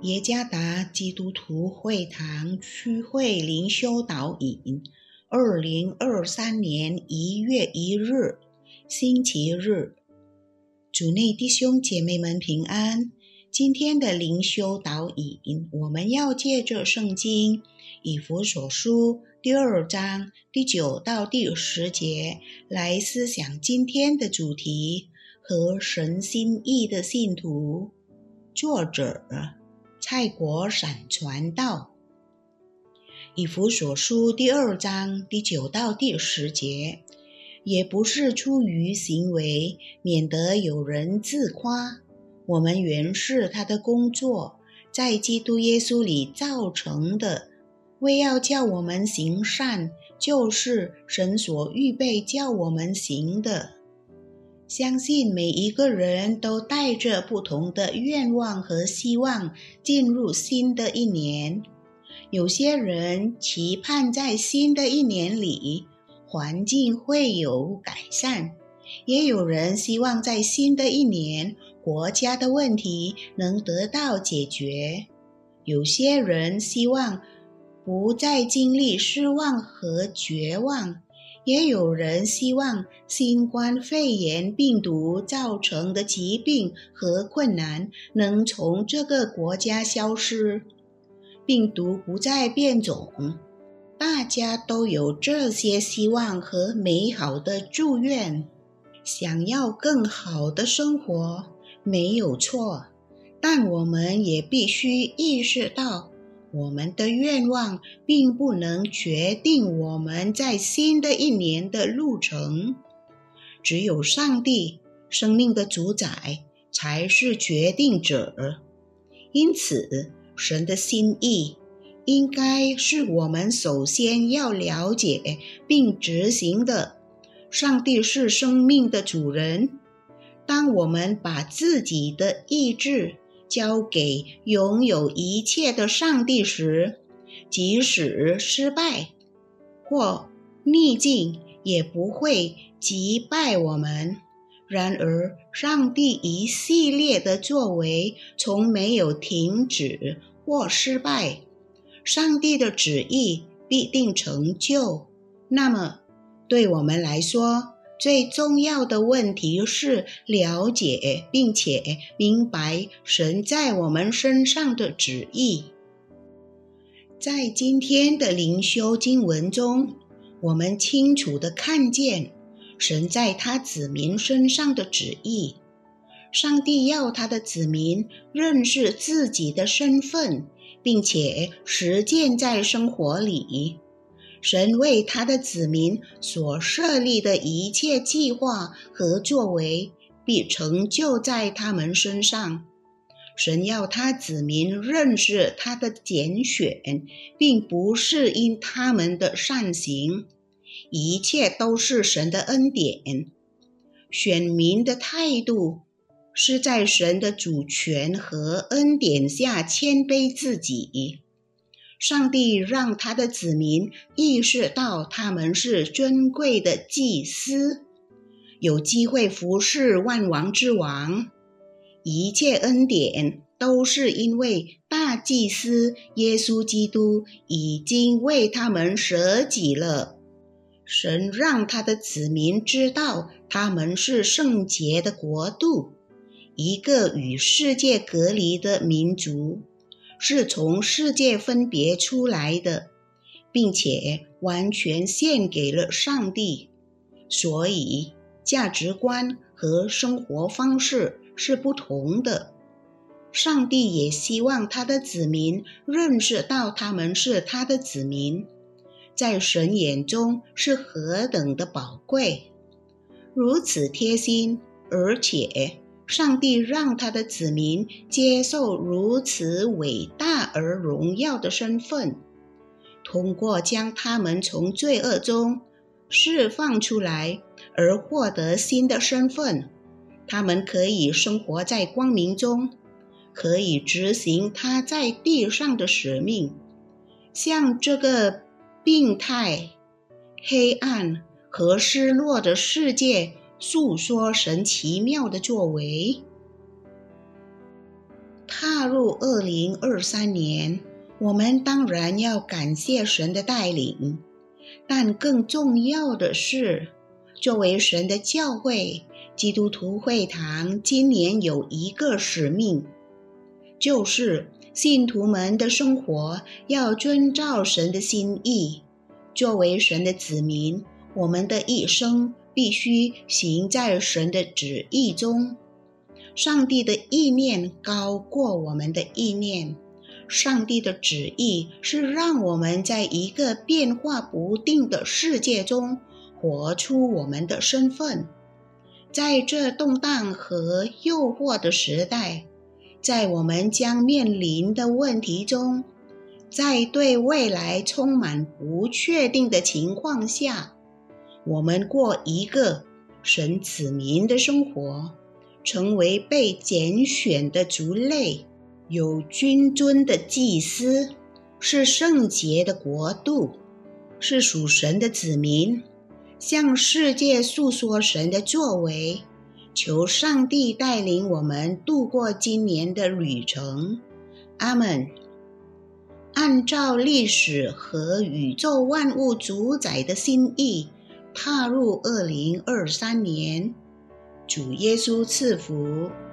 耶加达基督徒会堂区会灵修导引，2023年1月1日，星期日。主内弟兄姐妹们平安。今天的灵修导引，我们要借着圣经以弗所书第2章第9到第10节来思想今天的主题和神心意的信徒。作者蔡国闪传道。以弗所书第2章第9到第10节，也不是出于行为，免得有人自夸。我们原是他的工作，在基督耶稣里造成的，为要叫我们行善，就是神所预备叫我们行的。相信每一个人都带着不同的愿望和希望进入新的一年。有些人期盼在新的一年里，环境会有改善，也有人希望在新的一年，国家的问题能得到解决。有些人希望不再经历失望和绝望，也有人希望新冠肺炎病毒造成的疾病和困难能从这个国家消失，病毒不再变种。大家都有这些希望和美好的祝愿，想要更好的生活没有错，但我们也必须意识到，我们的愿望并不能决定我们在新的一年的路程。只有上帝，生命的主宰，才是决定者。因此，神的心意应该是我们首先要了解并执行的。上帝是生命的主人。当我们把自己的意志交给拥有一切的上帝时，即使失败或逆境也不会击败我们。然而，上帝一系列的作为从没有停止或失败。上帝的旨意必定成就。那么，对我们来说，最重要的问题是了解并且明白神在我们身上的旨意。在今天的灵修经文中，我们清楚地看见神在他子民身上的旨意。上帝要他的子民认识自己的身份，并且实践在生活里。神为他的子民所设立的一切计划和作为，必成就在他们身上。神要他子民认识他的拣选，并不是因他们的善行，一切都是神的恩典。选民的态度是在神的主权和恩典下谦卑自己。上帝让他的子民意识到他们是尊贵的祭司，有机会服侍万王之王。一切恩典都是因为大祭司耶稣基督已经为他们舍己了。神让他的子民知道他们是圣洁的国度，一个与世界隔离的民族，是从世界分别出来的，并且完全献给了上帝。所以价值观和生活方式是不同的。上帝也希望他的子民认识到他们是他的子民，在神眼中是何等的宝贵。如此贴心，而且上帝让他的子民接受如此伟大而荣耀的身份，通过将他们从罪恶中释放出来而获得新的身份。他们可以生活在光明中，可以执行他在地上的使命，向这个病态、黑暗和失落的世界诉说神奇妙的作为。 踏入2023年，我们当然要感谢神的带领，但更重要的是，作为神的教会，基督徒会堂今年有一个使命，就是信徒们的生活要遵照神的心意。作为神的子民，我们的一生必须行在神的旨意中。上帝的意念高过我们的意念，上帝的旨意是让我们在一个变化不定的世界中活出我们的身份。在这动荡和诱惑的时代，在我们将面临的问题中，在对未来充满不确定的情况下，我们过一个神子民的生活，成为被拣选的族类，有君尊的祭司，是圣洁的国度，是属神的子民，向世界诉说神的作为。求上帝带领我们度过今年的旅程。阿们。按照历史和宇宙万物主宰的心意，踏入2023年。主耶稣赐福。